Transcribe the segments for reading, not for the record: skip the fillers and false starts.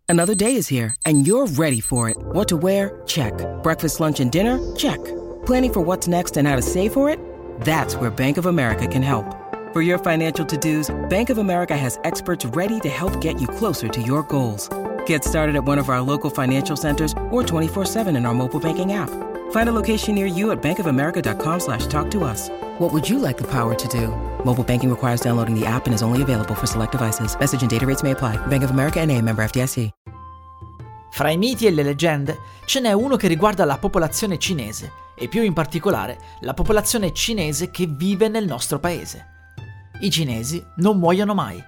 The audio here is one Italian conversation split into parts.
Another day is here, and you're ready for it. What to wear? Check. Breakfast, lunch, and dinner? Check. Planning for what's next and how to save for it? That's where Bank of America can help. For your financial to-dos, Bank of America has experts ready to help get you closer to your goals. Get started at one of our local financial centers or 24/7 in our mobile banking app. Find a location near you at bankofamerica.com/talktous. What would you like the power to do? Mobile banking requires downloading the app and is only available for select devices. Message and data rates may apply. Bank of America N.A., member FDIC. Fra i miti e le leggende ce n'è uno che riguarda la popolazione cinese e più in particolare la popolazione cinese che vive nel nostro paese. I cinesi non muoiono mai.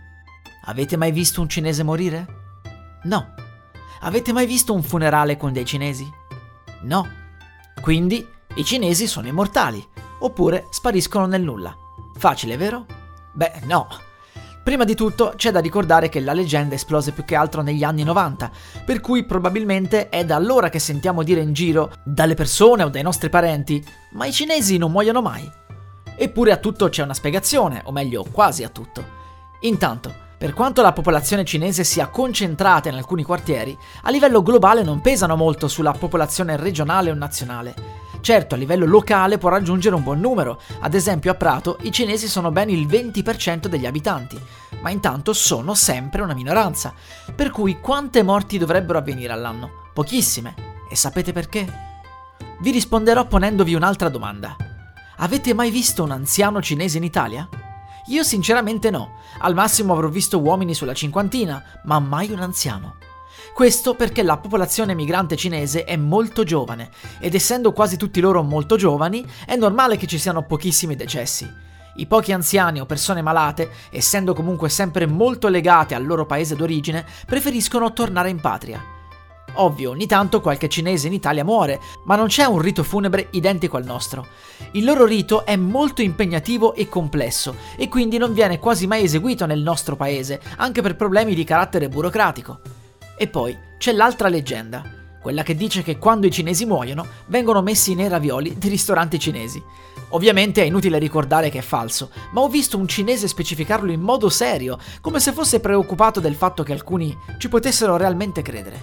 Avete mai visto un cinese morire? No. Avete mai visto un funerale con dei cinesi? No. Quindi i cinesi sono immortali, oppure spariscono nel nulla. Facile, vero? Beh, no. Prima di tutto c'è da ricordare che la leggenda esplose più che altro negli anni 90, per cui probabilmente è da allora che sentiamo dire in giro, dalle persone o dai nostri parenti, ma i cinesi non muoiono mai. Eppure a tutto c'è una spiegazione, o meglio, quasi a tutto. Intanto, per quanto la popolazione cinese sia concentrata in alcuni quartieri, a livello globale non pesano molto sulla popolazione regionale o nazionale. Certo, a livello locale può raggiungere un buon numero, ad esempio a Prato i cinesi sono ben il 20% degli abitanti, ma intanto sono sempre una minoranza, per cui quante morti dovrebbero avvenire all'anno? Pochissime. E sapete perché? Vi risponderò ponendovi un'altra domanda. Avete mai visto un anziano cinese in Italia? Io sinceramente no, al massimo avrò visto uomini sulla cinquantina, ma mai un anziano. Questo perché la popolazione migrante cinese è molto giovane ed essendo quasi tutti loro molto giovani è normale che ci siano pochissimi decessi. I pochi anziani o persone malate, essendo comunque sempre molto legate al loro paese d'origine, preferiscono tornare in patria. Ovvio, ogni tanto qualche cinese in Italia muore, ma non c'è un rito funebre identico al nostro. Il loro rito è molto impegnativo e complesso e quindi non viene quasi mai eseguito nel nostro paese, anche per problemi di carattere burocratico. E poi c'è l'altra leggenda, quella che dice che quando i cinesi muoiono vengono messi nei ravioli dei ristoranti cinesi. Ovviamente è inutile ricordare che è falso, ma ho visto un cinese specificarlo in modo serio, come se fosse preoccupato del fatto che alcuni ci potessero realmente credere.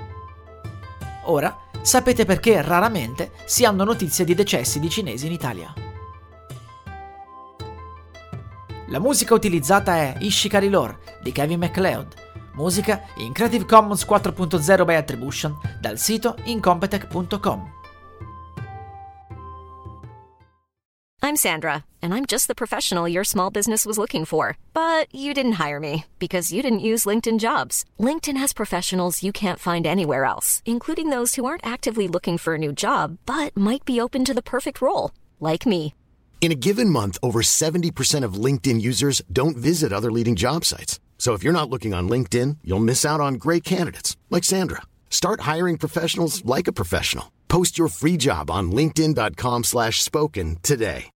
Ora sapete perché raramente si hanno notizie di decessi di cinesi in Italia. La musica utilizzata è Ishikari Lore di Kevin MacLeod. Musica in Creative Commons 4.0 by Attribution dal sito incompetech.com. I'm Sandra, and I'm just the professional your small business was looking for. But you didn't hire me because you didn't use LinkedIn Jobs. LinkedIn has professionals you can't find anywhere else, including those who aren't actively looking for a new job, but might be open to the perfect role, like me. In a given month, over 70% of LinkedIn users don't visit other leading job sites. So if you're not looking on LinkedIn, you'll miss out on great candidates like Sandra. Start hiring professionals like a professional. Post your free job on linkedin.com/spoken today.